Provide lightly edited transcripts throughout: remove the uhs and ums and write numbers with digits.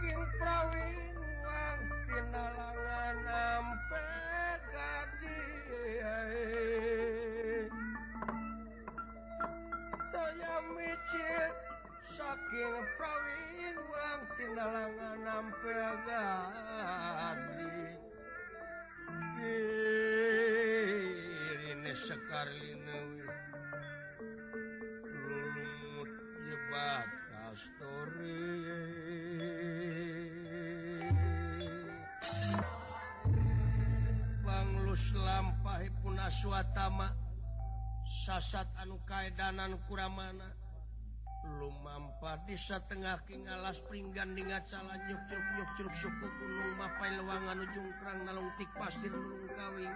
saking prawingan tinalangan ampe gadi saya micit saking prawingan tinalangan ampe gadi ini sekarlina lumut jebat kastori banglus lampahi puna suatama sasat anu kaedanan kuramana lumampa di satengah king alas pringgan dingat salah nyuk curug suku gunung mapai lewangan ujung kerang nalung tik pasir nulung kawing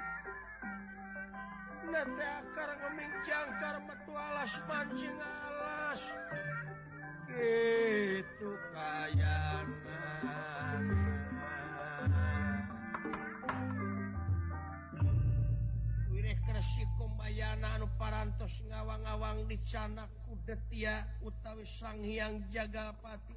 nate akar ngeming jangkar metu alas mancing alas gitu kayanan wireh kresik kumbayana anu parantos ngawang-awang dicanak Detia utawi Sang Hyang Jagapati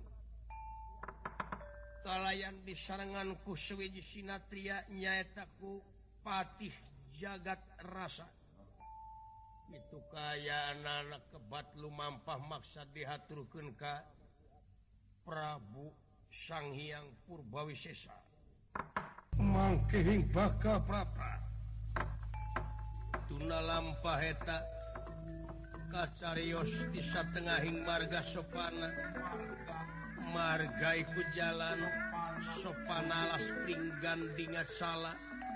kalayan disarengan ku sewiji sinatria nyaeta ku Patih Jagat Rasa itu kaya anak kebat lumampah maksa dihaturkeun ka Prabu Sang Hyang Purbawisesa mangkehing baka prapa tuna lampah eta kacarios di satengahing marga sopana marga iku jalan sopana alas pringgan dingat salah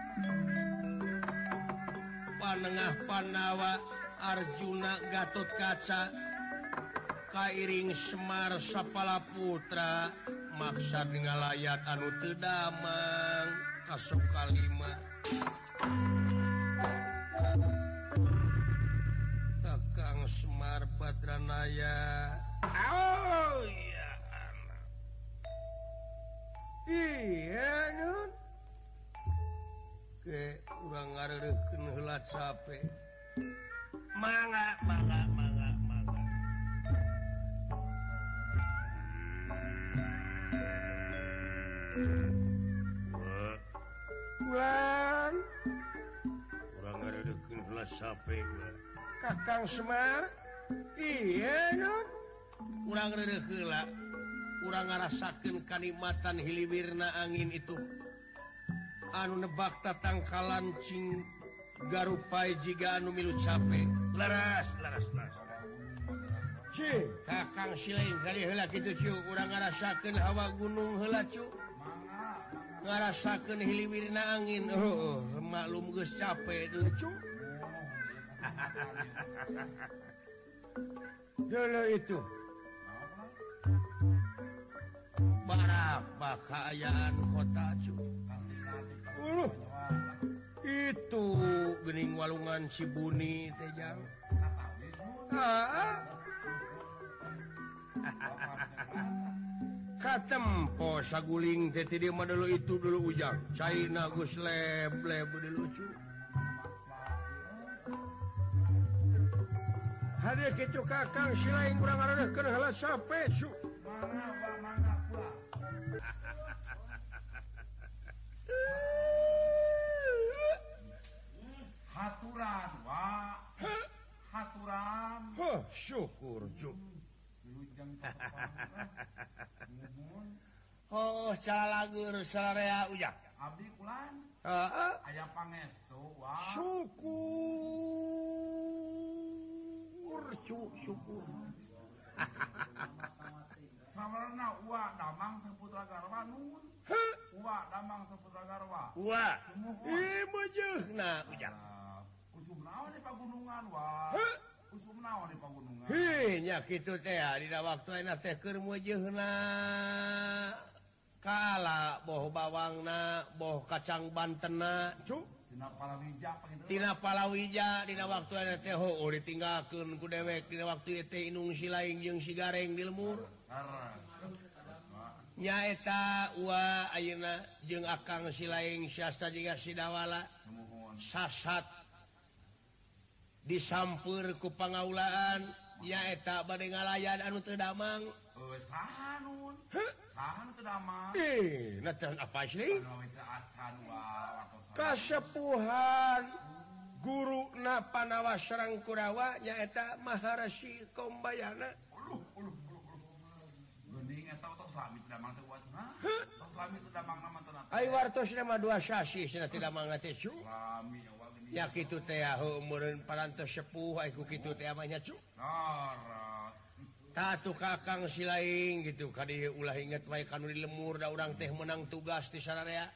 panengah Panawa Arjuna Gatot Kaca kairing Semar Sapala Putra maksad ngalayat anu teu damang kasok kalima Semar Badranaya oh iya anak iya nun ke urang ngareureukkeun heula cape mangga Wan urang ngareureukkeun heula cape Kakang Semar iya non urang reureuk heula urang ngarasakeun kanikmatan hiliwirna angin itu anu nebak tatangkalan cing garupai jiga anu milu cape laras ci Kakang Silaing kali heula kitu cu urang ngarasakeun hawa gunung heula cu ngarasakeun hiliwirna angin oh maklum geus cape teh cu dulu itu berapa keayaan kota cu itu gening walungan Sibuni teh jang katempo saguling teh di mah dulu itu dulu ujang caina geus lebleb dulu cu hadir kitu Kakang Silaing urang ngareureukkeun heula sape su mangga pula haturan wa haturan syukur cu oh calalagur salarea ujang abdi kulan aya pangestu wa syukur samarna uwa damang saputra garwa nun uwa damang saputra garwa uwa ieu mah jeugna ujang usum naon di pagunungan wa usum naon di pagunungan nya kitu teh dina waktu ayeuna teh keur meujeuna kala boh bawangna boh kacang bantenna cu Tina Palawija dina waktu ayeuna teh heueuh ditinggalkeun ku dewek dina waktu teh Inung Silaing jeung si Gareng di lemur nyaeta uwa ayeuna jeung Akang Silaing siasta jiga Sidawala sasat disampeur ku pangaulaan nyaeta bade ngalayan anu teu damang saha nun apa sih kasepuhan guru Panawa Serang Kurawa nyaeta Maharashi Kombayana ai wartos nama dua sasi cenah tidak mangga teh cu ya kitu teh umeureun parantos sepuh ai ku kitu teh mah nya cu tatu kakang silaing gitu ka dieu ulah inget wae kanu di lemur da urang teh menang tugas di sararea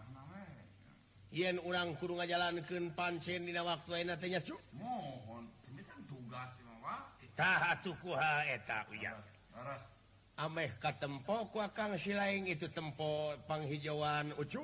yen urang kudu ngajalankeun pancen dina waktu ayeuna teh nya cu mohon semisal tugas mah tah atuh kuha eta uya ameh katempo ku akang silaing itu tempo panghijauan ucu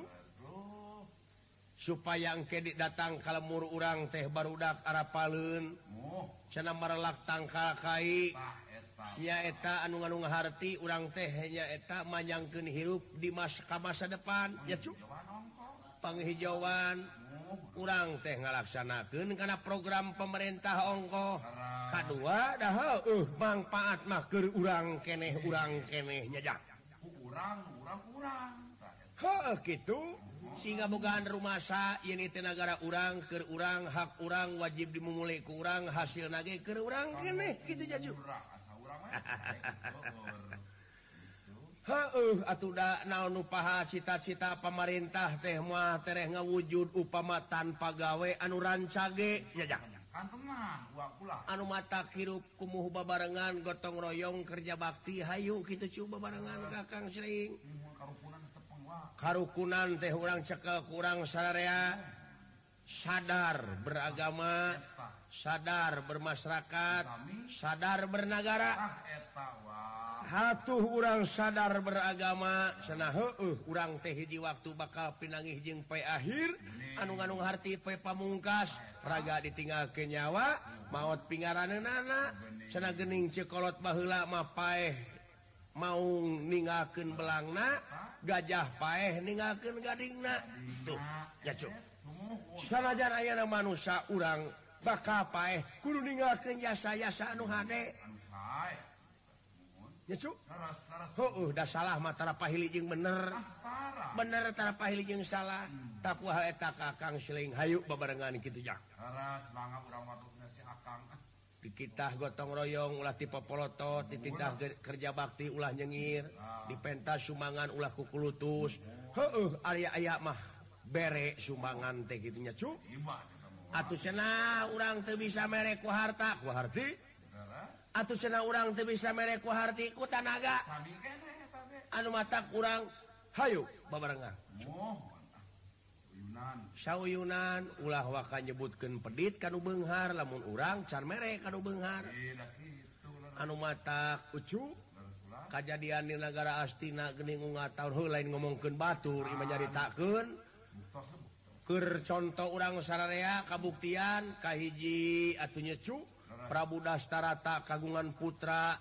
supaya engke datang ka lemur urang teh barudak arapaleun cenah marelak tangkal kai nyaeta anu nganu ngaharti urang teh nyaeta manyangkeun hirup di masa depan ya cu panghijauan urang teh ngalaksanakeun kana program pemerintah ongkoh kadua dah manfaat mah keur urang keneh nyajak urang kitu sehingga bogaan rumasa yen teh nagara urang keur urang hak urang wajib dimulai ku urang hasilna ge keur urang keneh kitu jaju atuh da naon nu paha cita-cita pamarintah teh mah tereh ngawujud upama tanpa gawe anu rancage nya anu mata hirup kumuh babarengan gotong royong kerja bakti hayu kitu cu babarengan kakang sering karukunan teh urang cekel kurang sararea sadar beragama sadar bermasyarakat sadar bernagara hatuh urang sadar beragama cenah urang teh hiji waktu bakal pinangih jeung poe akhir anu harti poe pamungkas raga ditinggalkeun nyawa maot pingaraneunana cenah geuning cekolot baheula mah paeh mau ninggalkeun belangna gajah paeh ninggalkeun gadingna tuh ya cu sanajan aya manusia urang bakal paeh kudu ninggalkeun jasa-jasa anu hade ya cu dah salah mah tara pahili jeung bener tara pahili jeung salah tak kumaha eta kakang siling hayu babarengan kitu jak semangat urang watukna si akang dikitah gotong royong ulah ti popolotot dititah kerja bakti ulah nyengir di pentas sumbangan ulah kukulutus aya mah bere sumbangan teh kitu nya cu atuh cenah urang teu bisa mere ku harta ku harti atuh cenah urang teu bisa mere ku harti ku tanaga anu matak urang hayu babarengan sauyunan ulah waka nyebutkeun pedit kanu beunghar lamun urang can mere kanu beunghar anu matak ucu kajadian di negara Astina geuning ngataur heuh lain ngomongkeun batur ieu nyaritakeun keur contoh urang sararea kabuktian kahiji atuh nyecu Prabu Dastarata kagungan putra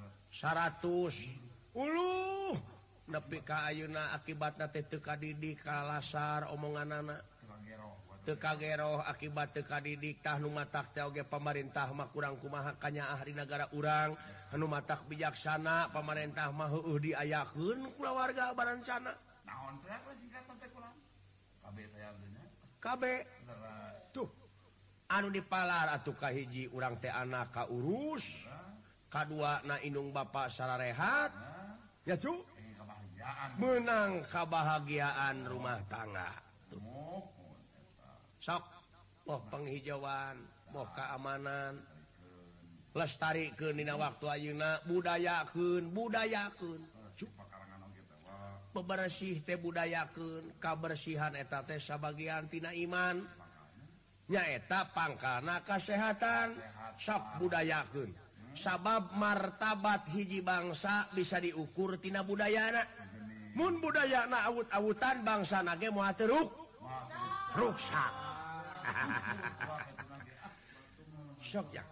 100 uluh nepi ka ayeuna akibatna teh teu kadidik kalasar omonganana teu kageroh akibat teu kadidik tah nu matak teh oge pamarintah mah kurang kumaha kanyaah di negara urang anu matak bijaksana pamarintah mah heueuh diayakeun kula warga barancana naon teh singkatan teh kulang kabeh teh nya kabeh tuh anu dipalar atuh kahiji urang teh anak ka urus kadua na indung bapa sararehat ya cu menang kebahagiaan rumah tangga sok boh penghijauan boh keamanan lestarikeun dina waktu ayeuna budayakeun bebersih teh budayakeun kabersihan eta teh sabagian tina iman nyaeta pangkalna kasehatan sok budayakeun sabab martabat hiji bangsa bisa diukur tina budayana mun budayana awut-awutan bangsana ge moal teu rusak sok ya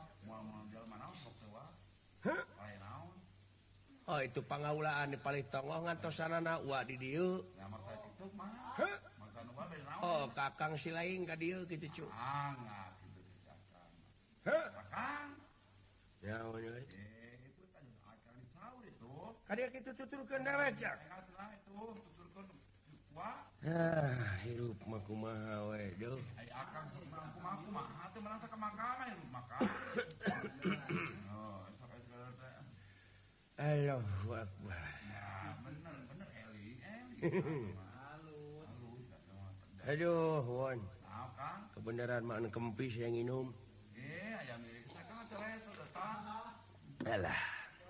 oh itu pangaulaan di Palitongo ngantosanana wa di dieu oh kakang silaing ka dieu kitu cu ya Kadek kitu tuturkeun dewek ya. Itu tuturkeun wa. Hirup mah kumaha we, duh. Ai akang kumaha teu menang ka mangkana hirup maka. Oh, sok segala teh. Allahu Akbar. Ya, bener Eli. Halus. Aduh, Won. Nah, Kang. Kebenaran mah anu kempis yang minum. Aya milik saya kan cerai sudah. Alah.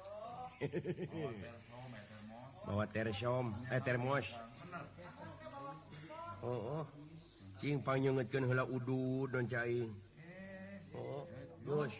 Bawa termos. Termos. Oh. Cing panyeungeutkeun heula udud don cai. Oh, geus.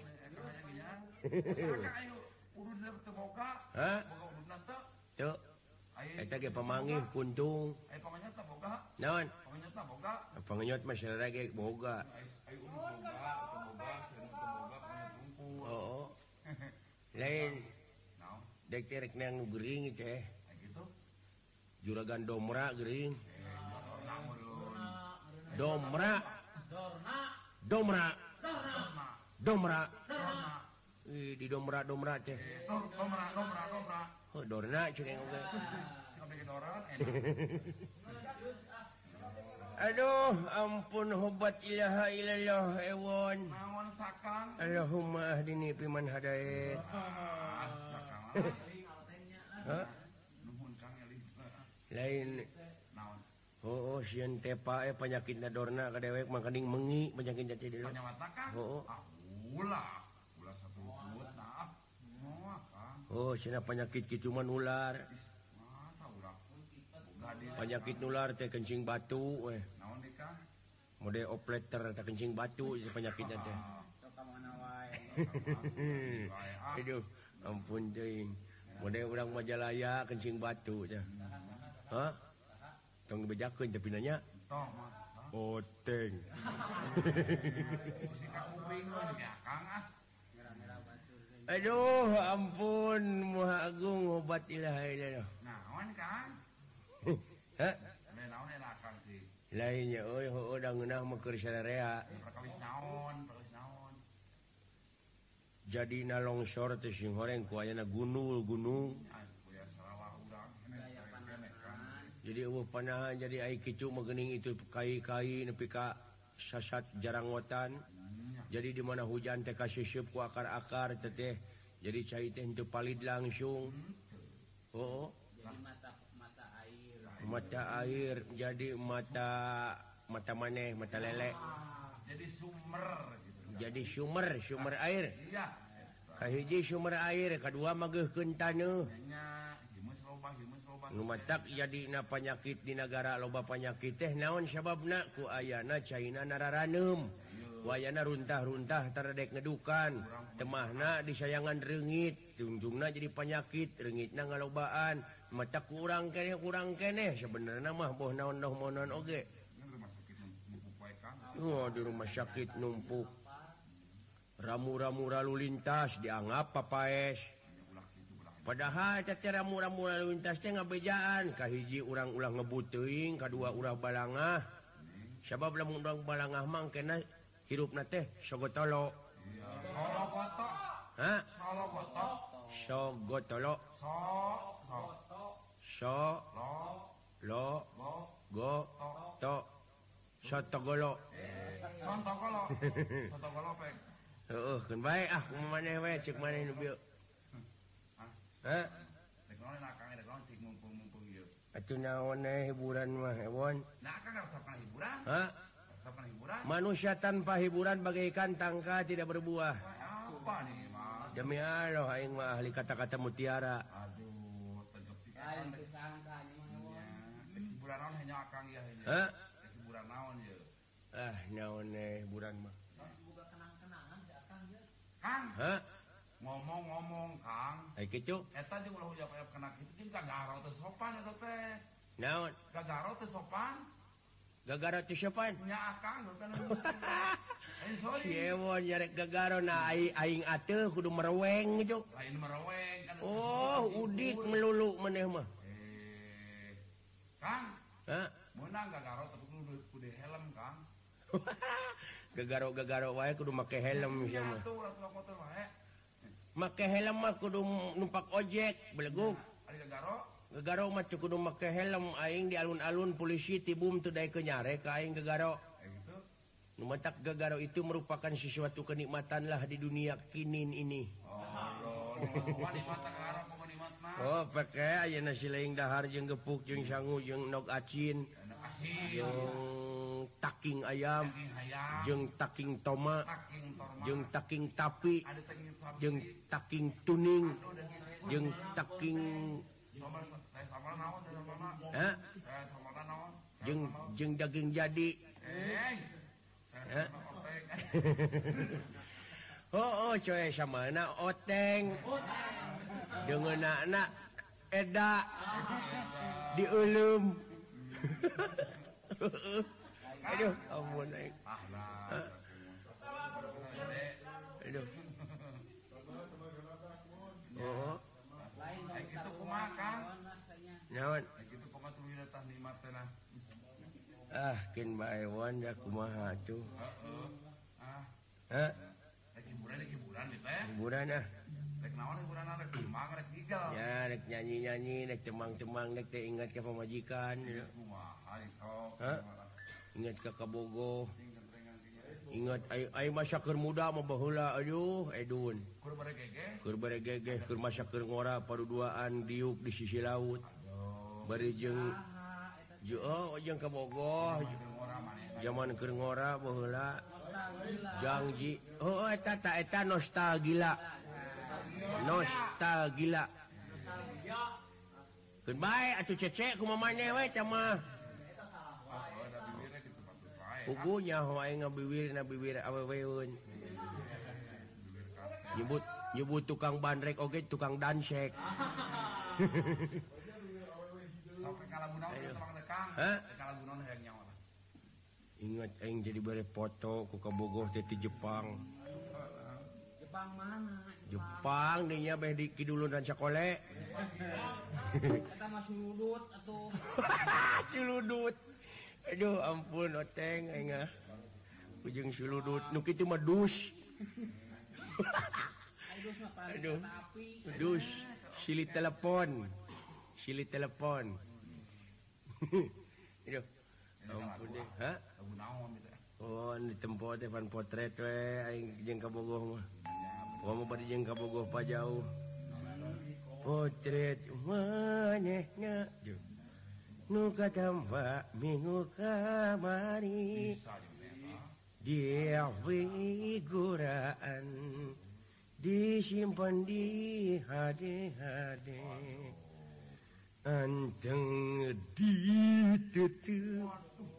Udud teu boga. Hah? Boga ududna teu. Teu. Eta ge pamanggih kuntung. Ai panganyot teh boga. Naon? Panganyot teh boga. Panganyot mah sareng ge boga. Ai udud boga, sareng boga panganyot tungkul. Oh. Lain Naon? dek terek nang nu geuring teh. Ai kitu. Juragan domra geuring. Dorna meureun. Domra. Dorna. Domra. Di domra teh. Domra. Oh, dorna cek oge. Sampai ke doran enak. Aduh, ampun hobat ilaha illallah ewon. Naon sakang? Allahumma ahdini fiman hadait. Sakang. Hah? Nuhun Kang Eli. Lain Naon? oh sieun tepa panyakitna dorna ka dewek mah kening mengi penyakit jati dulu. Panyawatna Kang? Oh. Ulah satu put nah. Moal Kang. Oh, cenah penyakit kitu mah nular. Masa ulah. Boga di Penyakit nular teh kencing batu we. naon deui Kang? Mode opleter teh kencing batu ieu penyakitnya teh. Aduh, ampun teuing. Mode urang Majalaya kencing batu teh. Hah? Tong dibejakeun tapi nanya. Tong mah. Oteng. Si Kang Uping we ya Kang ah. Aduh, ampun, Maha Agung obat ilaha illallah. Naon Kang? Hah? Ade naon enak Kang sih? Lainnya euy heueuh da ngeunah mah keur sararea. Prakawis naon? Jadina longsor teh sing horeng ku ayana gunung. Ai kuya sarawah urang kene Kang. Jadi eueuh panahan jadi ai kicu mah geuning itu kai-kai nepi ka sasat jarangotan. Jadi di mana hujan teh kaseup ku akar-akar teh. Jadi cai teh henteu palid langsung. Oh. Mata air jadi mata maneh mata lele. Jadi sumber gitu. Jadi sumber air. Iya. Kahiji sumber air, kadua mageuhkeun taneuh. Nya himus loba. Nu matak jadina penyakit di negara loba penyakit teh naon sababna ku ayana caina nararaneum. Ku ayana runtah-runtah taradek ngedukan. Temahna disayangan reungit, tunjungna jadi penyakit, reungitna ngalobaan. Matak kurang keneh sebenarnya mah boh naon-naon oge. Oh, di rumah sakit numpuk. Ramu-ramu lalu lintas dianggap papaes. Padahal teh ramu-ramu lalu lintas teh ngabejaan. Kahiji urang ulah ngebut teuing, kadua ulah balangah. Sabab lamun urang balangah mah kena hirupna teh sogotolo. Solo gotok. Hah? Solo gotok. Sogotolo. Lo go to sotogolo. Sontogolo peng. Heeh, keun bae ah maneh we ceuk maneh nu bieu. Hah? Dek naon enak Kang, dek naon cik mumpung ieu. Atuh naon hiburan mah ewon. Nah Kang resepna hiburan. Hah? Resepna hiburan. Manusia tanpa hiburan bagaikan tangka tidak berbuah. Apa nih Mas? Demi Allah aing mah ahli kata-kata mutiara. Aduh, tegep cik Kang. Hiburan naon hanya Kang ya hanya. Hah? Hiburan naon ieu? Ah, naon hiburan mah. Kang, Hah? ngomong Kang. Ai kitu. Eta jeung ulah hujap-hujap kena kitu jeung gagaro teh sopan eta teh. Naon? Gagaro teh sopan. Gagaro teh sopan. Nya Akang kan. Sorry. Si ewon nyarek gagaro na aing ateuh kudu mereweng gitu. Lain mereweng kan. Oh, udik melulu maneh mah. Kang, Hah? meunang gagaro teh kudu helm Kang. Gagaro wae kudu make helm sia mah. Atuh motor wae. Make helm mah kudu numpak ojek beleguk. Gegaro mah cukup make helm aing di alun-alun polisi tibum teu daek nyare ka aing gegaro. Nu matak gegaro itu merupakan sesuatu kenikmatan lah di dunia kinin ini. Oh, pakai ayeuna sileing dahar jeung gepuk jeung sangu jeung nog acin. Jeung taking ayam, jeung taking toma, jeung taking tapi, jeung taking tuning, jeung taking jeung daging jadi. Oh coy samana oteng deungeunana eda dieuleum. Aduh ampun aing. Aduh. Oh. Lain kitu kumaha Kang? Naon? Kitu kumaha tuluy tah nikmat teh nah. Kin bae wan da kumaha tuh. Hah? Hiburan teh. Hiburan ah. Rek naon hiburan rek mangga rek gigal. Ya rek nyanyi-nyanyi, rek cemang-cemang, rek teh ingat ka pamajikan. Kumaha sok. Hah? Ingat ka kabogoh. Ingat ai masa keur muda mah baheula aduh edun. Keur baregege, keur masa keur ngora paduduaan diuk di sisi laut. Bari jeung jeung kabogoh. Zaman keur ngora baheula. Janji. Oh eta nostalgia. Nostalgia. Keun bae atuh cece kumaha maneh we teh mah. Pugunya wae ngabiwir aweweun. Nyebut tukang bandrek oge tukang dansek. Sampai kalagunaon teh Mang Tekang. Kalagunaon hayang nyawa. Ingat aing jadi bare foto ku kabogoh teh ti Jepang. Jepang mana? Jepang dinya beh di kidulun dan sakole. Eta mah suludut atuh. Suludut. Aduh ampun oteng aing ah. Ujung suludut nu kitu mah dus. Aduh. Dus silih telepon. Aduh. Ampun deh. Hah? Oh, di tempat teh pan potret we aing jeung kabogoh mah. Pomo bari jeung kabogoh pa jauh. Potret manehna nu katampa minggu kamari dia figuraan disimpan di HD anteng ditutup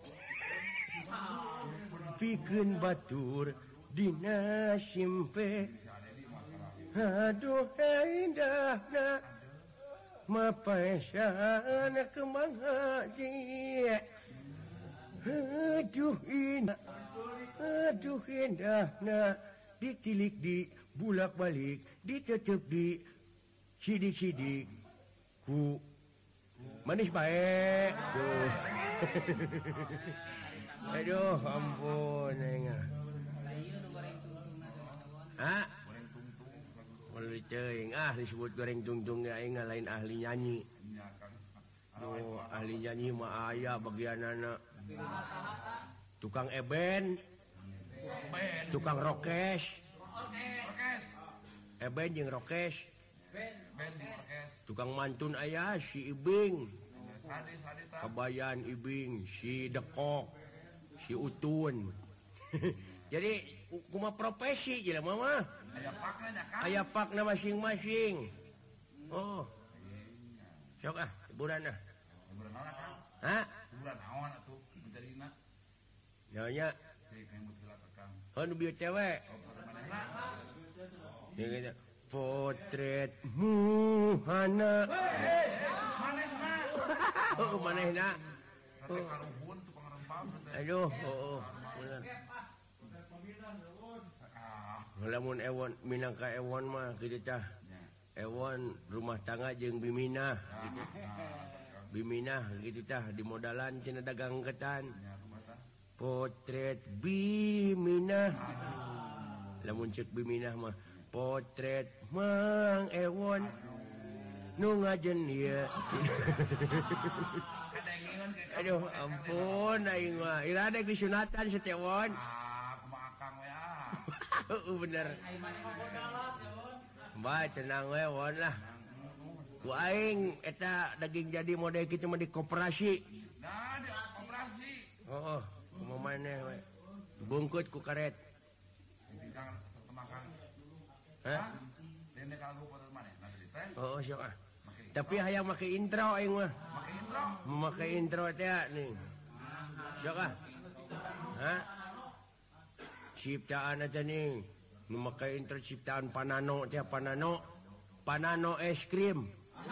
pikeun batur dina simpe aduh indahna mapaesana kemang haji aduh indahna ditilik di bulak balik ditetep di sidik-sidik ku manis baik tuh. Aduh ampun enggak. Hah? Mulai ceuing disebut goreng tungtung ya aing lain ahli nyanyi. Oh, ahli nyanyi mah aya bagianana. Tukang eben. Tukang rokes. Eben jeung rokes. Tukang mantun aya si Ibing. Kabayan Ibing, si Dekok, si Utun. Jadi kumaha profesi jelema mah. Aya pakna masing-masing. Oh. Sok hiburan ah. Hiburan naon Kang? Hah? Hiburan naon atuh menterina? Nyonya. Cek rambut heula Kang. Oh nu bieu cewek. Dia potretmu hana. Manehna. Oh manehna. Teh karuhun tukang rempam teh. Aduh, bener. Lamun ewon minangka ewon mah kitu tah. Ewon rumah tangga jeung biminah gitu. Biminah gitu tah di modalan cenah dagang ketan. Potret biminah. Lamun ceuk biminah mah potret Mang Ewon nu ngajen ieu. Aduh ampun aing mah irade disunatan setewon. Kumaha Kang we Bener. Mbak tenang we won lah. Ku aing eta daging jadi model kitu mah di koperasi. Nah di koperasi. Heeh, kumaha maneh we. Bungkut ku karet. Kang setemakan. Hah? Dene kanggo foto maneh nanti teh. Oh, sok ah. Tapi hayang make intro aing mah. Make intro. Memakai intro teh nih. Sok ah. Hah? Ciptaan aja nih. Memakai intro ciptaan Panano teh Panano es krim.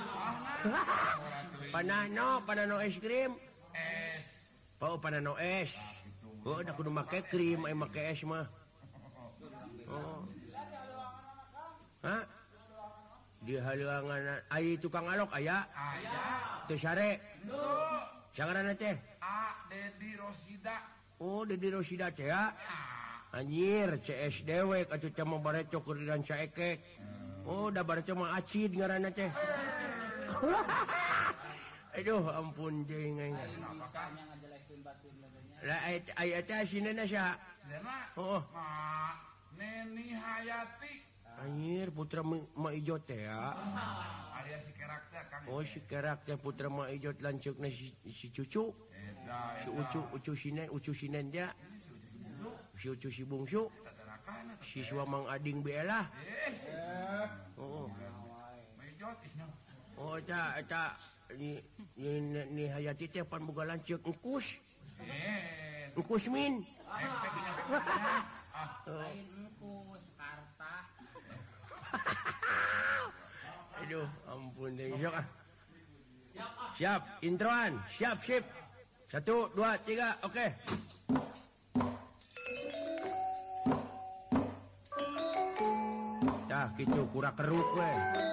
Panano es krim. Es. Oh, Panano es. Oh, udah kudu make krim, make es mah. Oh. Hah? Di haluangan ai tukang alok aya? Aya. Teu sare. Sangaranna teh? Dedi Rosida. Oh, Dedi Rosida teh ya. Anjir, CS dewek atuh teh mah bareco keur dan saekek. Oh, da bareco mah acid ngaranna teh. Aduh, ampun jeung aing. Lah aya teh asinna saha? Sinena. Oh. Neni Hayati. Anjir, putra Ma Ijo teh ya. Ada si kerak teh Kang. Oh, si kerak teh putra Ma Ijo lanceukna si Cucu. Si Ucu Sinen dia. Si Ucu si bungsu. Si Suamang Ading Bela. Oh. Oh, eta ni Hayati teh pan boga lanceuk engkus. Engkus min. Lain engku Sekarta. Aduh, ampun deh. Sok ah. Siap, introan. Siap. 1, 2, 3, oke. Tah, gitu kurang keruk we.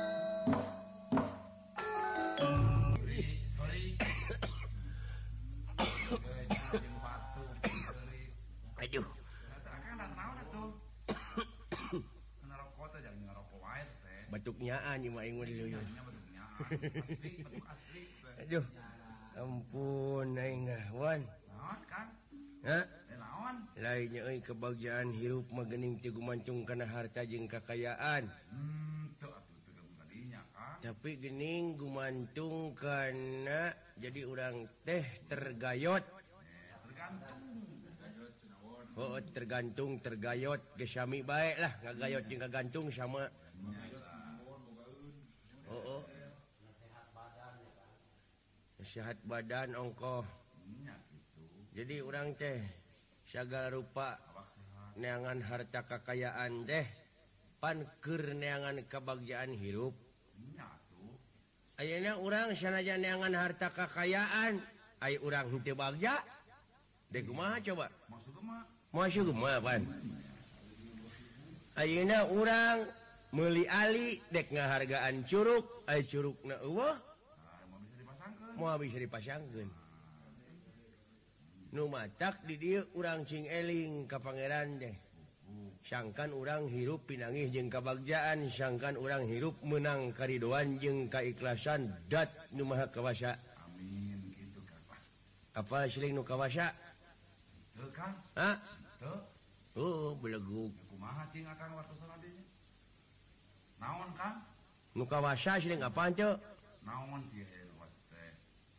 Aduh. Batuknyaan ieu mah aing mah dieu. Aduh. Ampun aing wan. Naon Kang? Hah? Naon? Lain euy kebahagiaan hirup mah geuning teu gumantung kana harta jeung kakayaan. Teu atuh teu kadinya Kang. Tapi geuning gumantung kana jadi urang teh tergayot. Tergantung. Tergayot geus sami bae lah ngagayot jeung kagantung sama. Oh. Sehat badan ongkoh. Jadi orang teh segala rupa neangan harta kekayaan teh pan keur neangan kebahagiaan hirup. Ayeuna urang sanajan neangan harta kekayaan, aya urang henteu bagja. Dek kumaha coba? Masuk kumaha pan? Ayeuna urang meuli ali dek ngahargaan curug, aya curugna eueuh. Moal bisa dipasangkeun. Nu matak di dieu urang cing eling ka pangeran teh. Sangkan urang hirup pinangih jeung kabagjaan, sangkan urang hirup menang karidoan jeung kaikhlasan dat nu maha kawasa. Amin kitu Kang. Apa siling nu kawasa? Teu Kang. Hah? Teu. Oh, beleguk. Kumaha cing Kang wartosan dinya? Naon Kang? Nu kawasa siling apaan teu? Naon kieu was teh?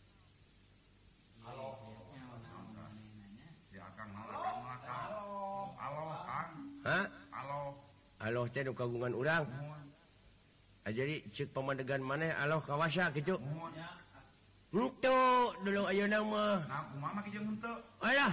Si Akang naon Kang? Alo Kang. Hah? Alo. Aloh teh nu kagungan urang. Jadi ceuk pamandegan maneh aloh kawasa kitu. Henteu dulu ayeuna mah. Nah kumaha make jeung henteu? Alah.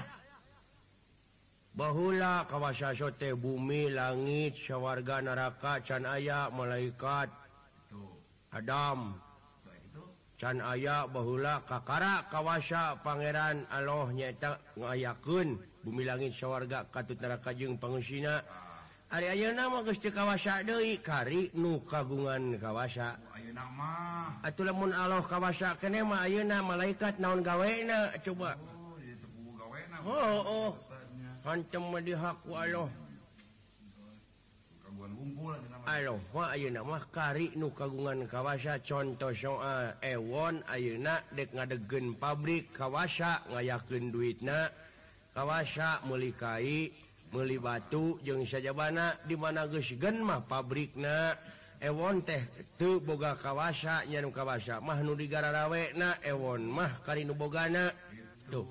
Bahula kawasa teh bumi, langit, sawarga, neraka, can aya malaikat. Tuh. Adam. Baik itu. Can aya bahula kakara kawasa pangeran Allah nyaeta ngayakeun bumi langit sawarga katut neraka jeung pangusina. Ari ayeuna mah geus teu kawasa deui kari nu kagungan kawasa. Ayeuna mah. Atuh lamun Allah kawasa keneh mah ayeuna malaikat naon gawena coba. Oh, ieu teu pugu gawena. Oh. Hantem mah dihaku Allah. Kaguan ngumpul dina Ayeuna mah kari nu kagungan kawasa contoh soal ewon ayeuna dek ngadegen pabrik kawasa ngayakeun duitna kawasa meuli kai meuli batu jeung sajabana di mana geus gen mah pabrikna ewon teh teu boga kawasa nya nu kawasa mah nu digararaweuna ewon mah kari nu bogana tuh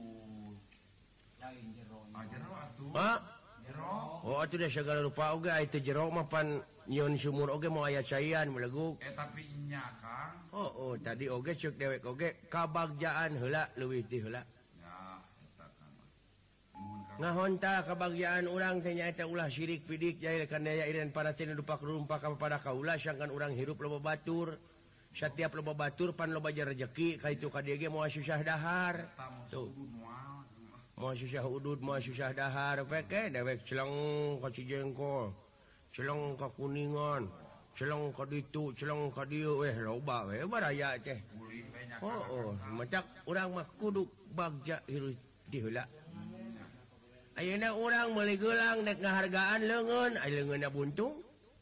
oh atuh da segala rupa oge aya jero mah pan nyeun sumur oge mau aya caian meleguk tapi nya Kang oh tadi oge ceuk dewek oge kabagjaan heula leuwih ti heula ya eta Kang ngahonta kabagjaan urang teh nyaeta ulah syirik pidik jahil kan daya ireun para teh dupak rumpa ka pada kaula sangkan urang hirup loba batur setiap loba batur pan loba rezeki ka itu ka dieu ge moal susah dahar tuh mau susah udud mau susah dahar peke dewek celeng ka Cijengkol celeng ka Kuningan celeng ka ditu celeng ka dieu loba we baraya teh macak urang mah kudu bagja hirup di heula ayeuna urang meuli geulang dek ngahargaan leungeun aya leungeunna buntung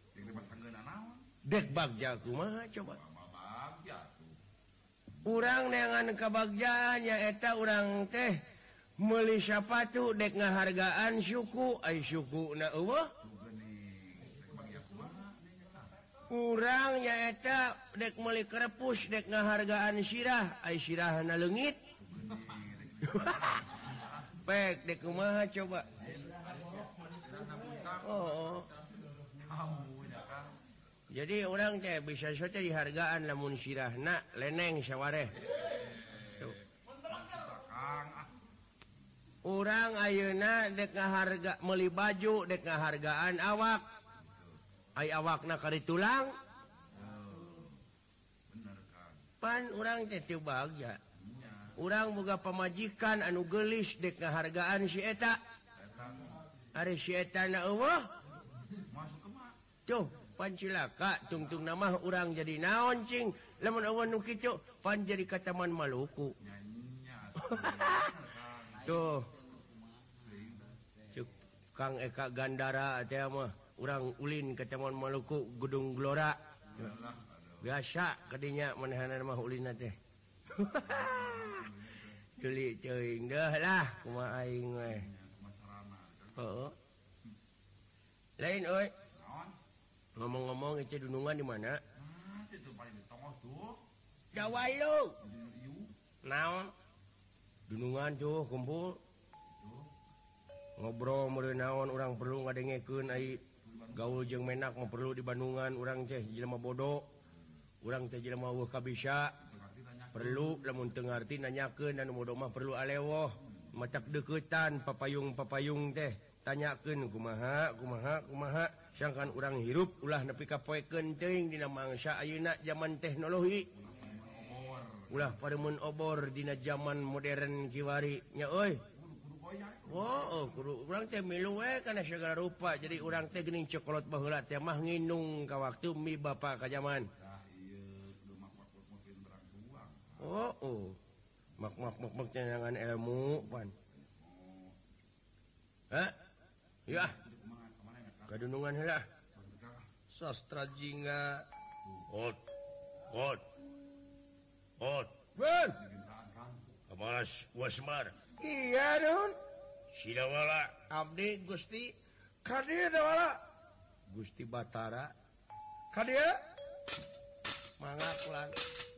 dek bagja kumaha coba urang neangan kabagjaan nyaeta urang teh meuli sapatu dek ngahargaan suku ai sukuna eueuh urang nyaeta dek meuli krepus dek ngahargaan sirah ai sirahna leungit pek dek kumaha coba jadi urang teh bisa sote dihargaan lamun sirahna leneng sawareh urang ayeuna dek ngaharga meuli baju dek ngahargaan awak ai awakna kari tulang pan urang teh teu bagja urang boga pamajikan anu geulis dek ngahargaan si eta ari si eta na eueuh tuh pan cilaka tungtungna mah urang jadi naon cing lamun eueuh nu kitu pan jadi ka Taman Maluku tuh Kang Eka Gandara teh mah urang ulin ke Taman Maluku Gedung Gelora biasa kadinya manehanna mah ulinna teh Juli ceuing deuh lah kumaha aing we heuh lain euy ngomong-ngomong itu dunungan di mana itu paling di tongos tuh Jawalu naon dunungan tuh kumpul ngobrol meureun naon urang perlu ngadengekeun ai gaul jeung menak mah perlu di Bandungan urang teh jelema bodoh urang teh jelema eueuh kabisa perlu lamun teu ngarti nanyakeun anu bodoh mah perlu alewoh macak deuketan papayung teh tanyakeun kumaha sangkan urang hirup ulah nepi ka poe keunteuing dina mangsa ayeuna zaman teknologi ulah paremun obor dina zaman modern kiwari nya euy kudu urang teh milu we kana segala rupa jadi urang teh geuning cokolot baheula teh mah nginung ka waktu mi bapa ka zaman mak cenangan ilmu pan ya kadunungan heula sastra jingga hot ben Kamas Wasmar iya nun sidawala abdi Gusti kadia dawala Gusti Batara kadia mangga pulang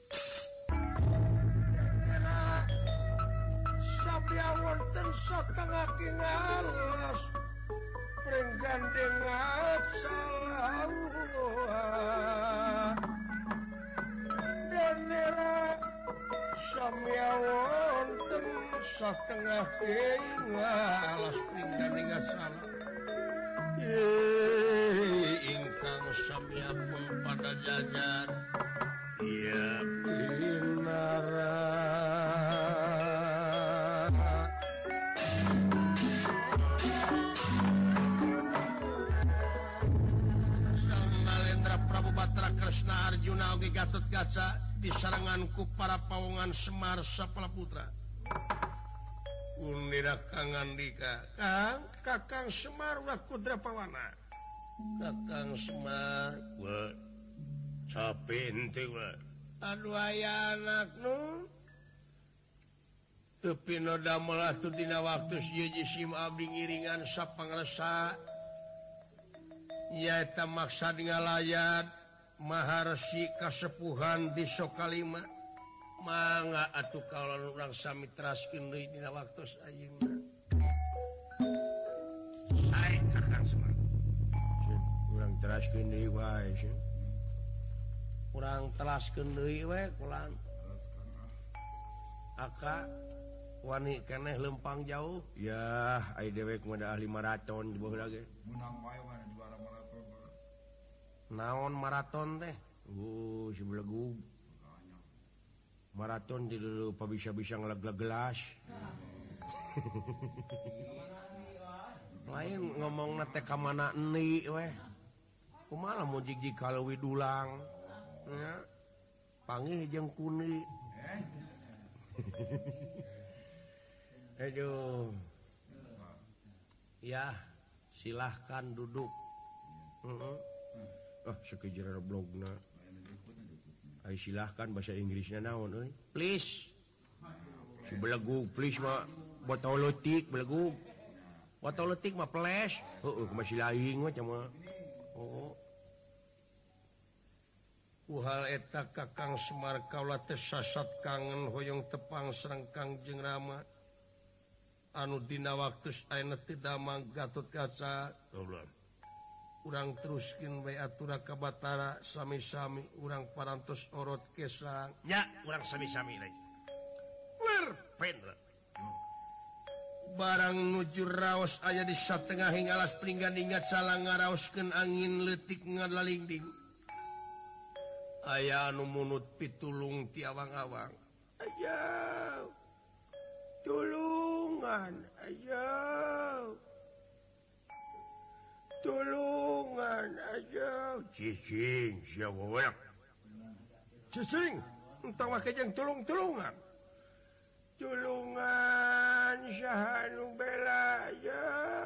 sabya wonten satengah kingalas pringgandengan salah danera samya wonten satengah kingalas pringgandengan salah ingkang samya pun pada jajar iya binara Kresna Arjuna oge Gatotkaca disaranganku para pawongan Semar Sapala Putra. Unira Kang Andika, Kakang Semar ulah Kudrapawana. Kakang Semar capek ente aduh aya anak nu tapi no damel atuh dina waktu si sim abdi ngiringan sapangresa nyaeta maksad ngalayat maharsi kasepuhan di Sokalima mangga atuh kalau urang sami teraskeun deui dina waktu ayeuna sae Kakang Semar urang teraskeun deui wae urang telaskeun deui we kulan aka wani keneh lempang jauh ya ai dewek mah ahli maraton di bawah lagi menang wae mana juara maraton naon maraton teh si belegug maraton di dulu pa bisa-bisa ngelag-lag gelas lain ngomong teh ka mana euni we kumaha mun jig-jig kaleuwi dulang nya pangih jeung kuni aduh ya silahkan duduk sekejar blogna ay silahkan bahasa Inggrisnya naon euy please si belegug please mah botol leutik belegug botol leutik mah please heueuh masih laing mah cenah hal eta Kakang Semar kaula teh sasat kangen hoyong tepang sareng Kangjeng Rama anu dina waktu ayeuna teu damang Gatot Kaca urang teruskeun bae atura ka Batara sami-sami urang parantos orot kesang nya urang sami-sami lagi pendra barang nuju raos aya di satengahing alas pringgandingan salah ngaraoskeun angin leutik ngalalingding aya anu munut pitulung ti awang-awang aya tulungan aya tulungan aya cicing sia weweak cicing entah mah kejeng tulung-tulungan tulungan saha nu bela aya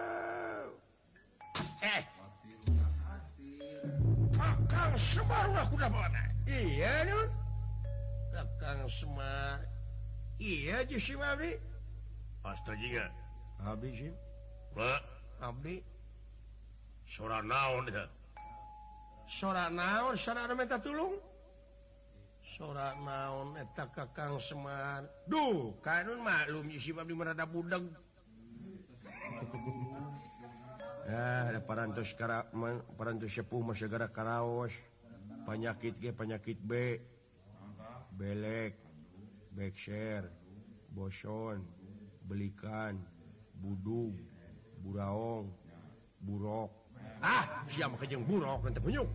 Kakang Semar lah kuda mana? Iya nun. Kakang Semar. Iya je si abdi. astaga Abdi sih. Pak Abdi. sora naon ya Sora naon sana minta tulung. Sora naon eta Kakang Semar. Duh, kanun maklum si abdi merada budeg. Ya, ada parantos sepuh mah segara karaos. Penyakit G, penyakit B. Belek, bekser, boson, belikan, budug, buraong, burok. Siapa kejeng burok nanti punyuk.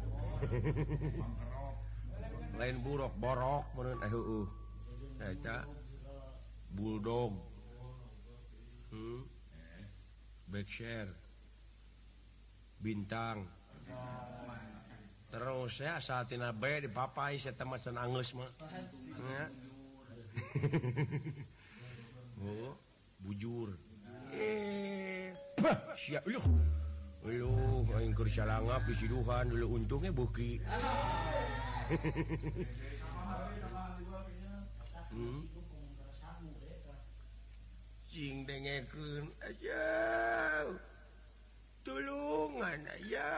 Lain burok, borok menurut Eta bulldog. Bekser. Bintang terus ya saat ini B dipapai saya temacan angles mah oh bujur siap lu aing keur salangap di siduhan dulu untungnya buki cing dengekeun aja tulungan aya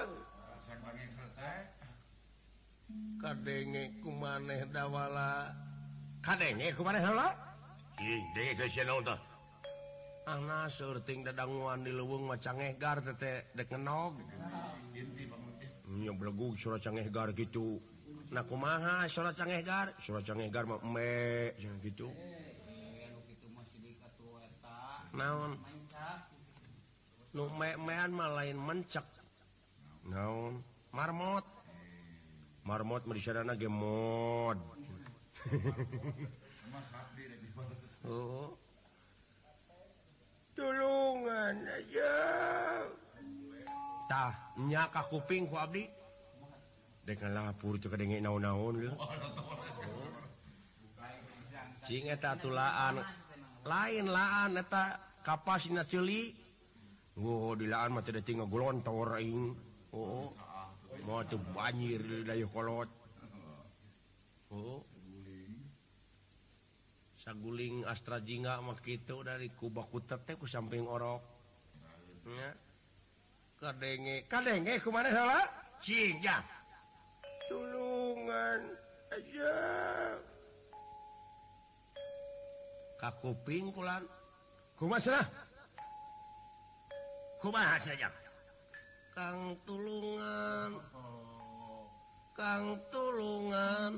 kadenge kumaneh dawala kadenge kumaneh heula denge ke sia naon tah ana seurting dadanguan di leuweung mah cangehgar teh dek ngenog nya belegug suara cangehgar gitu nah kumaha suara cangehgar mah embe cenah gitu naon nu mean mah lain mencek naon marmot mah disadana ge mod oh tulungan aja tah nya ka kuping ku abdi dek ngalapur teu kadenge naon-naon leuh cing eta tulaan lain laan eta kapasina ceuli. Di laan mah teu tinggal golontor aing. Oh mau tuh banjir dari kolot. Oh saguling Astra Jingga mah kitu dari kubakutet teh ku samping orok nya kadenge kumaha heula cing ya tulungan aja ka kuping kulan kumaha saja Kang tulungan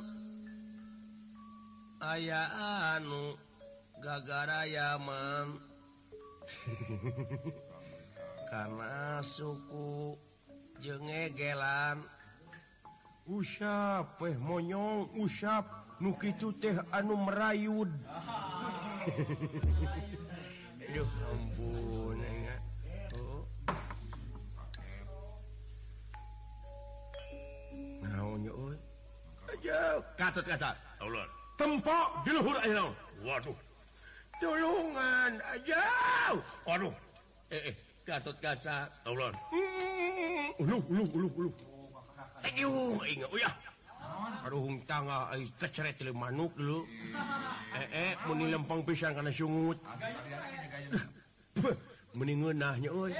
aya anu gagara Yaman karena suku jengegelan usap monyong usap nu kitu teh anu merayud aduh ampun naonnya euy aja katut kaca Allah tempok di luhur ayeuna waduh tulungan aja waduh Gatot Kaca Allah uluh ingat uyah karuhung tangga ai keceret le manuk dulu meni lempang pisan kana sungut meni ngeunahnya euy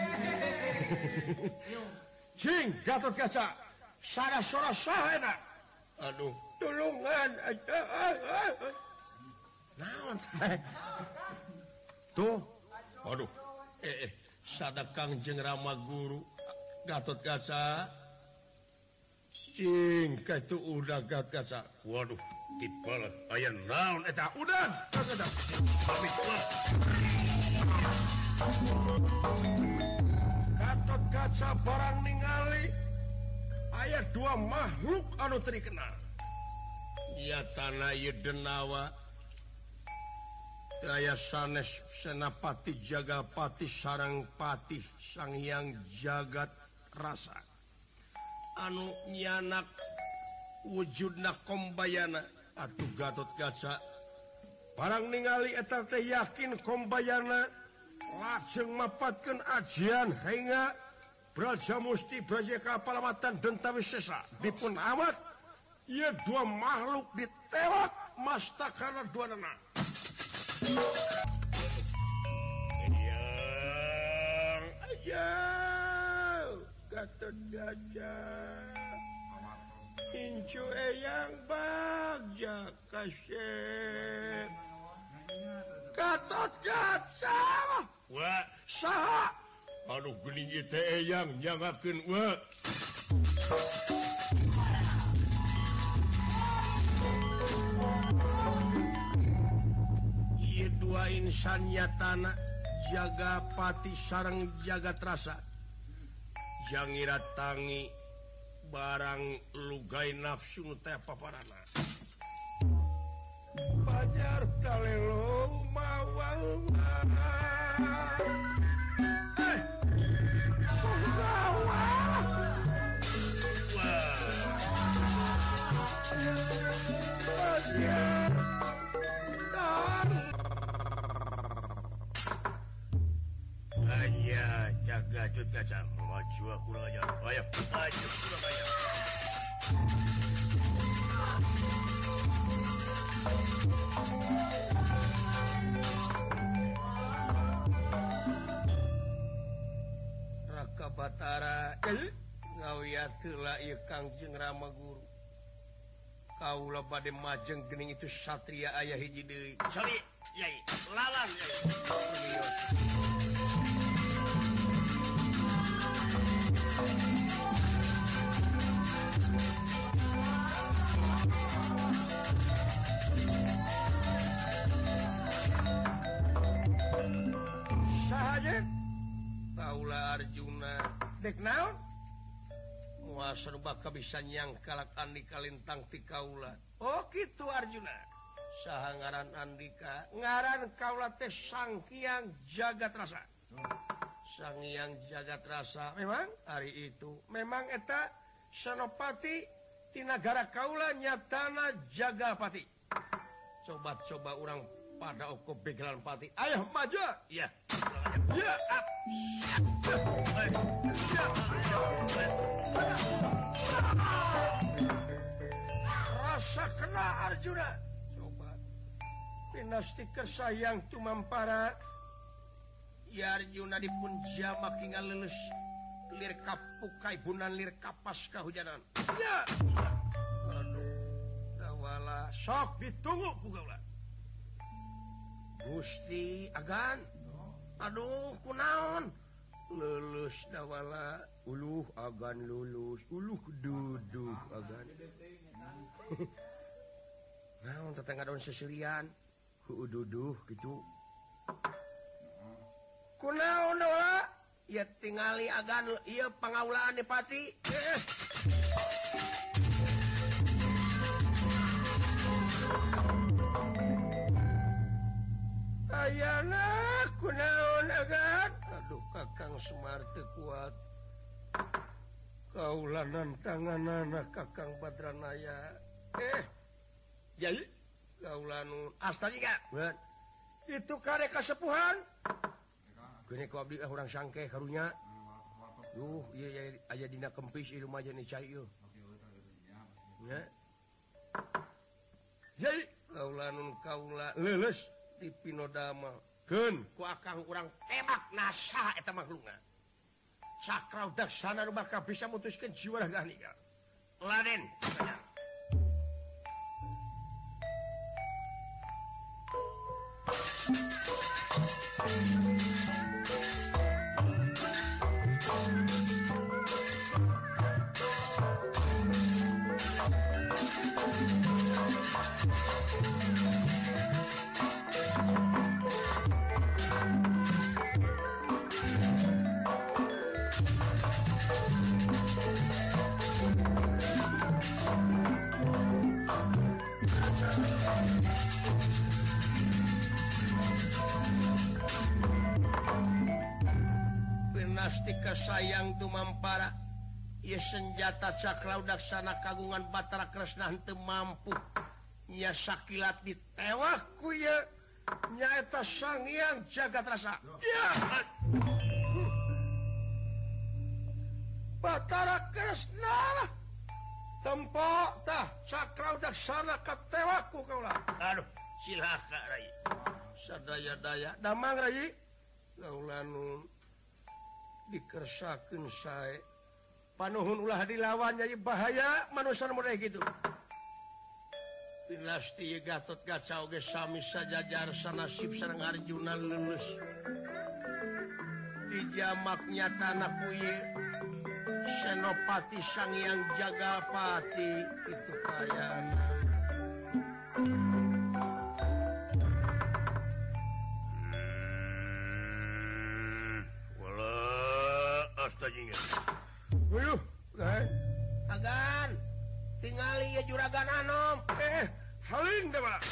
cing Gatot Kaca sara-sara saha eta aduh tulungan aja naon tuh waduh sadakang jeung Rama Guru Gatot Kaca cing katu udah Gatot Kaca waduh tipal aya naon eta udah Gatot Kaca barang ningali aya dua makhluk anu teu dikenal nyatana ieu denawa aya sanes Senapati Jagapati sareng Patih Sang Hyang Jagat Rasa anu nyanak wujudna kombayana atuh Gatot Kaca barang ningali eta teh yakin kombayana lajeng mapatkeun ajian hingga Braja Musti Braja Kapalamatan Denta Wisesa dipun amat ieu dua makhluk ditewak mastakana duanana aja Gatot Kaca incu eyang bagja kasep Gatot Kaca wah saha anu geuning ieu teh eyang nyangakeun wa ieu dua insan nyatana Jagapati sareng Jagat Rasa jangira tangi barang lugay nafsu teh paparana Banjar kalelo mawang Gatot Kaca maju kurang aja ayo kurang aja Raka Batara ngawiat heula ieu Kangjeng Rama Guru kaula bade majeng geuning itu satria aya hiji deui cari yai lalang yai sahaja kaula Arjuna dek naon muasa baka bisa nyangkalak Andika lintang ti kaula oh kitu Arjuna saha ngaran Andika ngaran kaula teh Sang Hyang Jagat Rasa Sang Hyang Jagat Rasa memang hari itu memang eta Senopati ti nagara kaula nyatana Jagapati coba-coba orang pada oko begelan pati ayah maju iya ya Rasa kena Arjuna. Coba. Pinastiker sayang tumampara. Ya Arjuna dipun jamak hingga lulus. Lir kapukai bunan lir kapas kahujanan. Ya. Aduh. Dawala. Sok ditunggu ku gaula. Gusti Agan. Aduh kunaon. Lulus dawala. Uluh Agan lulus. Uluh duduh Agan. Naon tetangga daun seserian. Duduh gitu. Kunaon dawala. Ya tingali Agan ieu pangaulaan di pati. Ayana kunaon Agan. Aduh Kakang Semar teu kuat. Kaulanan tanganana Kakang Badranaya. Jadi kaulanun asta juga. Itu kare kasepuhan. Gini ku abdi urang sangke karunya. Iya aya dina kempis ieu mah jeung cai ieu. Ya. Jadi kaulanun kaula leuleus di Pinodama. Keun ku akang urang tembak nasa eta makhlukna. Sakrau daksana nu bakal bisa mutuskeun jiwa ragani. Laden. Pinastika sayang tumampara. Ieu senjata Cakra Daksana kagungan Batara Kresna henteu mampu. Nya sakilat ditewah ku ieu nyaeta Sang Hyang Jagatrasa. Ya. Batara Kresna tempo tah Cakra Daksana katewah ku kaula. Aduh, silaka Rai. Sadaya-daya damang Rai. Kaula nu dikersakeun sae. Panuhun ulah dilawan nyai bahaya manusia model gitu. Pinasti Gatot Kaca oge sami sajajar sanasib sareng Arjuna lulus. Dijamak nyatana ku ieu Senopati Sang Hyang Jagapati itu kayana. Astaga. Wuluh, Agan, tingali ya juragan Anom. Haling deh Pak.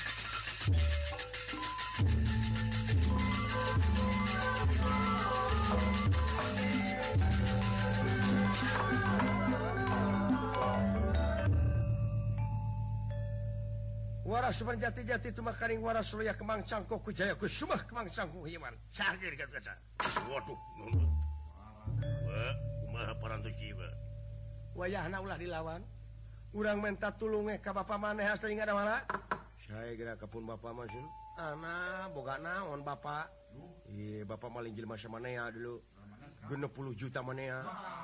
Waras suman jati-jati itu makaring waras loya kemang cangkok ku jaya ku sumah kemang cangkok himan. Cagir kaca. Waduh, nuntut. Wah, kumaha parantos jiwa. Wayahna ulah dilawan. Urang minta tulung ka bapa maneh as teuing ngadawala. Sae geura kapun bapa mah sun. Ana boga naon bapa? Ieu bapa maling jelema samanea dulu. 60 juta manea.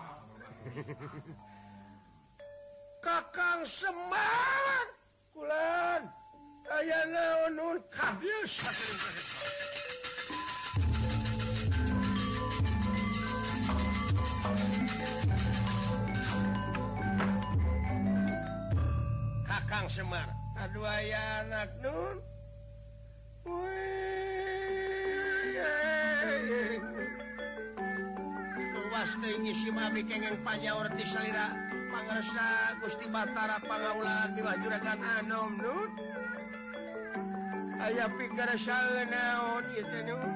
Kakang Semar. Kulan. Aya naon nun kabius. Kakang Semar, aduh aya anak nun. Luas teuing ngisi mami kengeng panyaur ti salira pangaresna Gusti Batara pangaulaan miwah juragan Anom nun. Aya pikaresaeun naon ieu teh nun.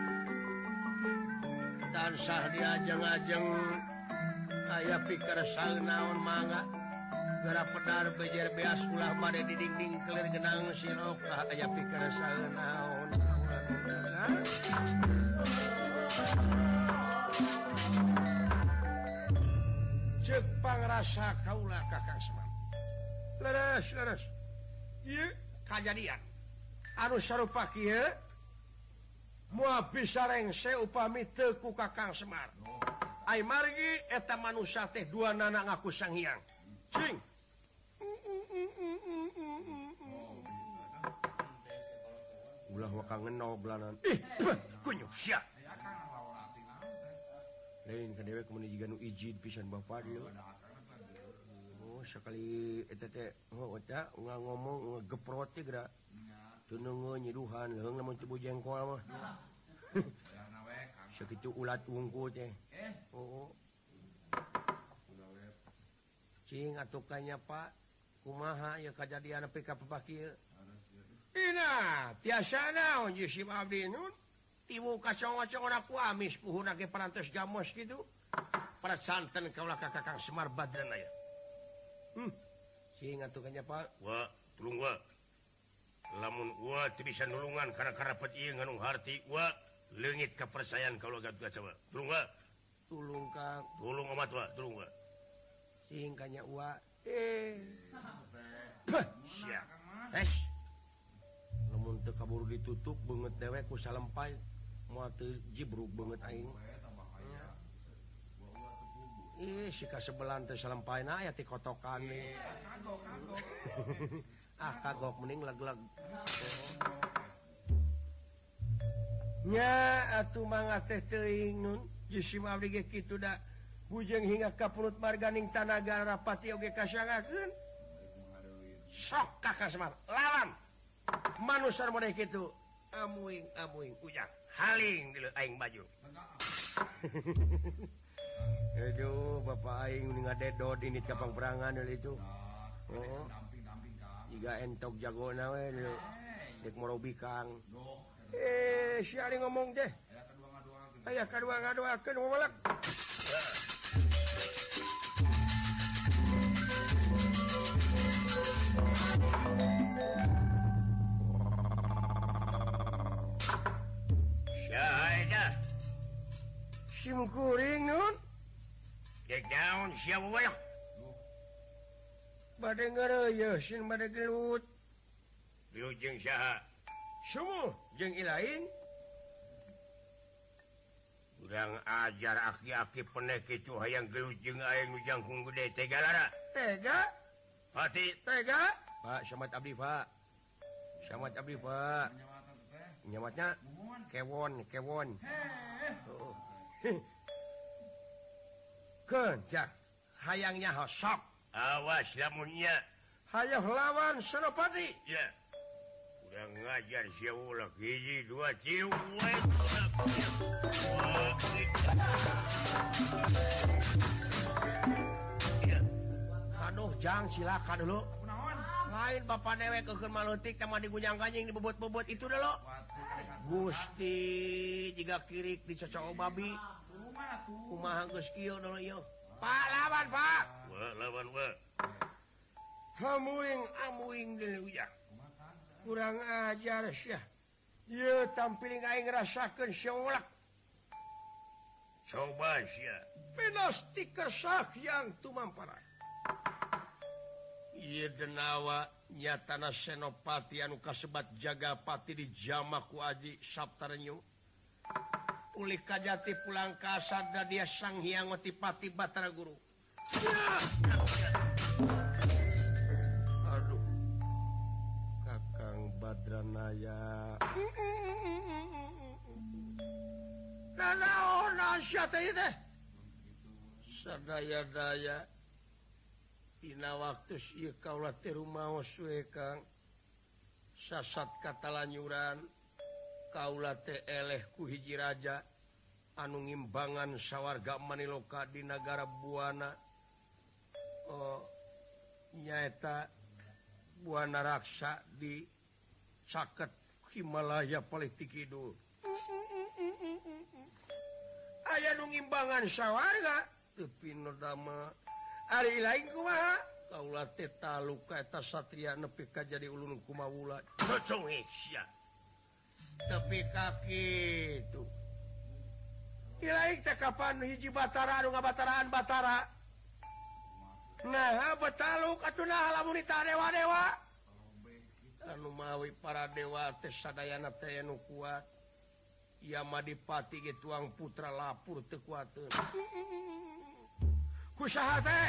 Tansah diajeng-ajeng aya pikaresaeun naon mangga. Gara pedar bejer beas ulah made di dinding kelir genang siloka aya pikaresaeun naon. cek pangrasa kaula Kakang Semar. Leres. Ieu kajadian anu sarupa kieu moal bisa rengse upami teu ku Kakang Semar. Ai margi eta manusia teh duanana ngaku Sang Hyang. Cing. Ulah wakang ngenol belanan. Kunyuk sia. Lain ka dewe kemudian jiga nu ijid pisan bapa dia. Oh sekali eta teh eta ngomong ngegeprot teh geura. Teu neungeun nyiduhan leung lamun teu jengkol mah. Sakitu ulat wungku teh. Oh. Cing atuh kanya Pak, kumaha ya kajadian nepi ka papaki ieu? Ina, tiasa naon ieu si abdi nun? Tiwu kacong-kacong aku amis puhuna ge parantos gamos kitu. Para santen kaulah ka Kakang Semar Badran aya. Cing atuh kanya Pak. Wa, tulung wa. Lamun wa teu bisa nulungan kana karapet ieu nganu harti wa leungit kapercayaan kaulah gaduh wa. Tulung wa. Tulung Kang. Tulung amat wa, tulung wa. Cing kanya wa. Sia. Lamun teu kaburu ditutup beungeut dewe ku salempay moal teu jibruk beungeut aing. Si kasebelan teh salempayna aya ti kotokan. Kagok mending leg-leg. Nya atuh mangga teh teuing nun jisim abdi ge kitu da bujeng hingga ka perut marganing tanaga rapati oge kasangakeun. Sok Kakang Semar lawan manusia model kitu amuing ujang haling di aing baju. Aduh, bapak aing ngadedod ini kapang perangan itu. Oh. Jika entok jagona we dek morobi Kang. Si ari ngomong teh. Aya kadua ngadoakeun momalak. Syahida. Sim kuring nun. Dek daun sia wayak. Bade ngareuyeun sin bade gelut. Gelut jeung saha? Sumuh jeung ilaing. Urang ajar aki-aki peneh kicu hayang gelut jeung aing nu jangkung gede tega lara. Tega? Pati Tega? Pak, syamat abdi, Pak. Syamat abdi, Pak. Nyamatnya kewon. Kencak. Hayangnya hosok. Awas lamunnya. Hayang lawan Senopati. Ya. Udah ngajar sia ulah hiji dua ciu. Aduh, jang silakan dulu. Lain bapak dewe kekeun maleutik teh mah digunyang kanjing dibobot-bobot itu dulu. Gusti jika kirik dicocok babi. Kumaha geus kieu dulu ieu. Pak lawan, Pak. Wah, lawan wah. Amuing deui ujang. Kurang ajar sia. Ieu tampil aing ngarasakeun seulak. Coba sia. Pinasti kersah yang tumamparan. Ieu denawa nyatana Senopati anu kasebat Jagapati di jamaku Aji Saptarenyu. Ulih kajati pulang ka asada dia Sang Hyang Otipati Batara Guru. Aduh. Kakang Badranaya. Nanaon sia teh teh? Sadaya-daya dina waktu ieu kaula teh rumaos we Kang. Sasat katalanyuran kaula teh eleh ku hiji raja anu ngimbangan sawarga Maniloka di nagara Buana. Nyaeta Buana Raksa di caket Himalaya Paliti Kidul. Aya nu ngimbangan sawarga tepi nodama ari lain kumaha kaula teh taluka eta satria nepi ka jadi ulun kumawula Cocong sia. tepi ka kitu ilaing teh kapan hiji Batara anu ngabataraan Batara Nah betaluk atuh lamun dewa-dewa anu mawi para dewa teh sadayana teh anu kuat Yamadipati ge tuang putra lapur teu kuateun kusaha teh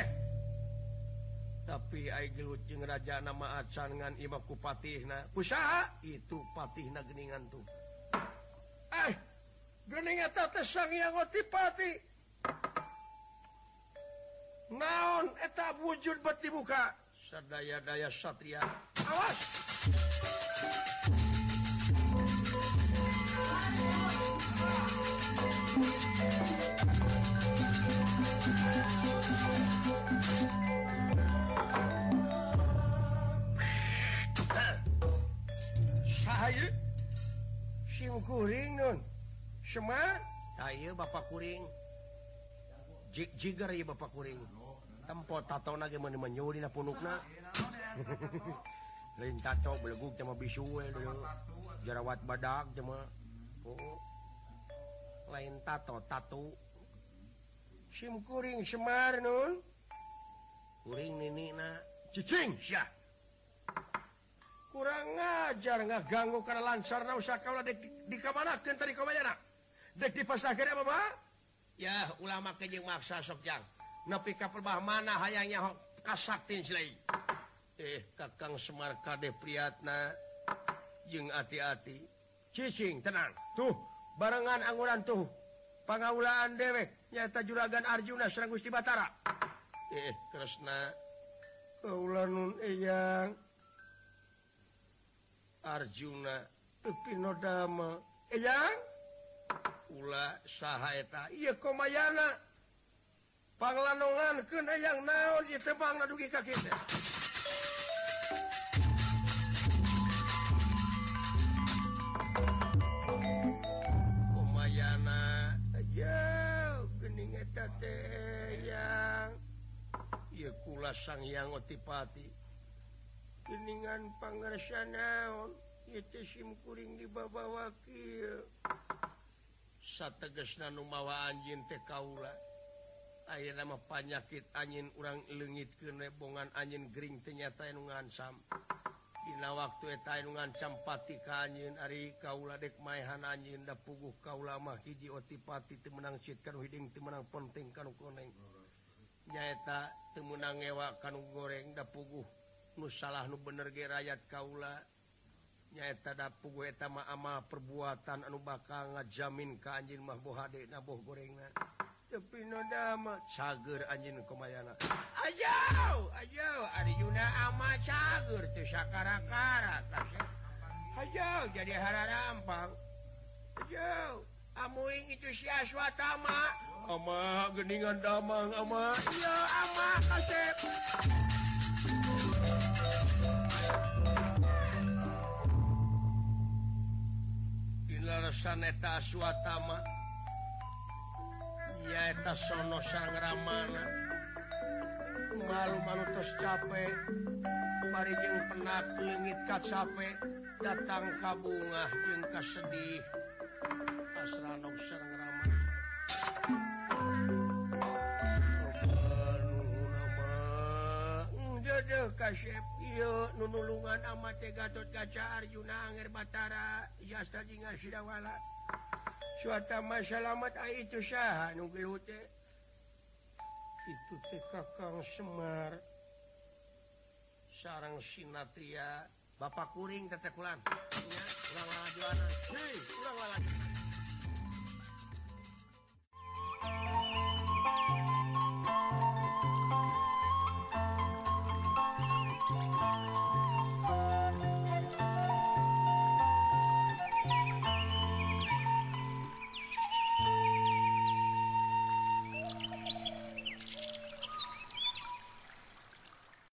tapi ai gelut jeung raja nama acan ngan imah ku patihna kusaha itu patihna geuningan tuh geuning eta teh Sang Hyang Adipati naon eta wujud bet dibuka sadaya-daya satria awas sahaya sim kuring nun Semar ayeuna Bapak kuring jigar ieu Bapak kuring tempo tatona ge meuni menyuli na punukna lain tato belegug sama bisu we jerawat badak sama lain tato sim kuring Semar nun kuring ninina cicing sia kurang ngajar ngaganggu kana lansarna usaha kaula di kamanakeun tadi komayana dek dipasahkeun apa ya ulama ke jeung maksa sok jang nepi ka perbah mana hayangnya kasaktin silai Kakang Semar kade priatna jeung ati-ati cicing tenang tuh barengan anguran tuh pangaulaan dewek nyata juragan Arjuna sareng Gusti Batara Kresna kaula nun eyang Arjuna Pinodama eyang ulah saha eta ieu komayana panglanongankeun eyang naon ieu teh bangna dugi ka kitu komayana aja geuning eta teh eyang ieu kula Sang Hyang Adipati geuningan pangarsan naon ieu teh sim kuring dibabawa kieu sategesna nu mawa anjeun teh kaula ayeuna mah panyakit anjeun urang leungitkeun we bongan anjeun gering teh nyata anu ngancam dina waktu eta anu ngancam pati ka anjeun ari kaula dek maehan anjeun da puguh kaula mah hiji Adipati teu meunang cit kanu hiding teu meunang penting kanu koneng nyaeta teu meunang ngewa kanu goreng da puguh nu salah nu bener ge rakyat kaula nyaeta da puguh eta mah amal perbuatan anu bakal ngajamin ka anjeun mah boh hade na boh gorengna tapi nodama cager anjeun komayana ajau ari Yuna ama cager teu sakara-kara ajau jadi hararampang ajau amuing itu si Aswatama ama geuningan damang ama ieu ama kasep larasan eta Aswatama ya eta sono sang Ramana malu manutos capek parijeng penak leungit ka capek datang ka bungah jeung ka sedih asrana sang Ramana Dedeh kasep ieu nu nulungan ama teh Gatot Kaca Arjuna Anger Batara jasta jingan Sidawala Swatama salamet ai itu saha nu gelut teh itu teh Kakang Semar sareng Sinatria Bapak kuring teteh kulan nya urang lalajuanan urang lalajuanan